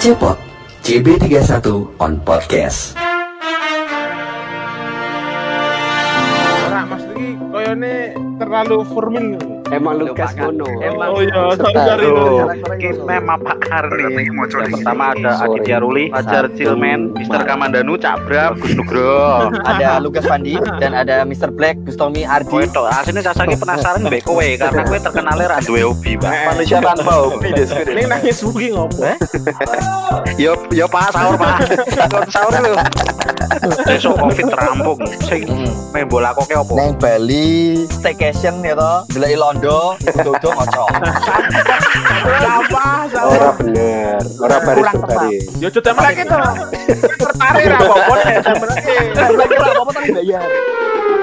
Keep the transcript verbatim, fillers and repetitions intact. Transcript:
Cepot, C B tiga puluh satu on podcast. Ora Mas iki koyone terlalu formal. Emang Lukas Mono. Emang oh iya, sorry. Oke, memang Pak Karni. Yang pertama ada Aditya Ruli, Fajar Cilmen, Mister Kamandanu, Cak Bram, Gus Nugroho. Ada Lukas Pandi dan ada Mister Black, Gustomi Ardi. Kowe tok, asline sasake penasaran mbek kowe karena kowe terkenal ra duwe hobi, Pak. Manusia tanpa hobi des. Ning nangis buki ngopo? Yo yo Pak sahur, Pak. Kon sahur lho. Besok Covid rampung. Sing main bola koke opo? Neng Bali staycation ya toh, delok Londo, udo-udo ngocok. Apa? Ora bener. Ora baris baris. Yo coba melek to. Tertarik ra apa-apa nek melek. Lagi apa-apa tapi bayar.